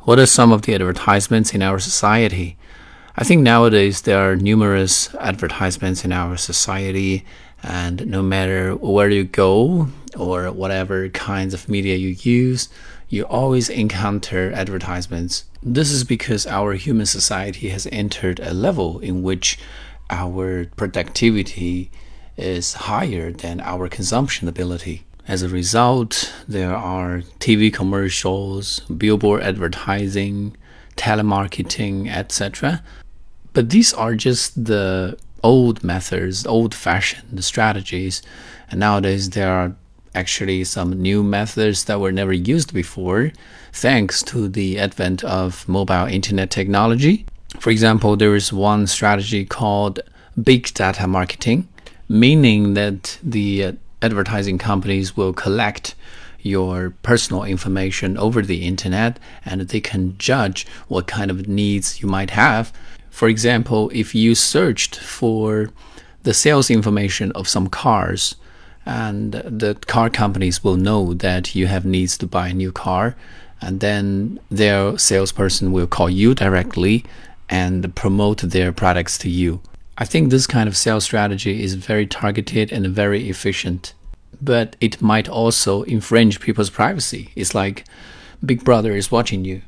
What are some of the advertisements in our society? I think nowadays there are numerous advertisements in our society, and no matter where you go or whatever kinds of media you use, you always encounter advertisements. This is because our human society has entered a level in which our productivity is higher than our consumption ability. As a result, there are TV commercials, billboard advertising, telemarketing, etc. But these are just the old methods, old-fashioned strategies. And nowadays, there are actually some new methods that were never used before, thanks to the advent of mobile internet technology. For example, there is one strategy called big data marketing, meaning that the advertising companies will collect your personal information over the internet, and they can judge what kind of needs you might have. For example, if you searched for the sales information of some cars, and the car companies will know that you have needs to buy a new car, and then their salesperson will call you directly and promote their products to you. I think this kind of sales strategy is very targeted and very efficient, but it might also infringe people's privacy. It's like Big Brother is watching you.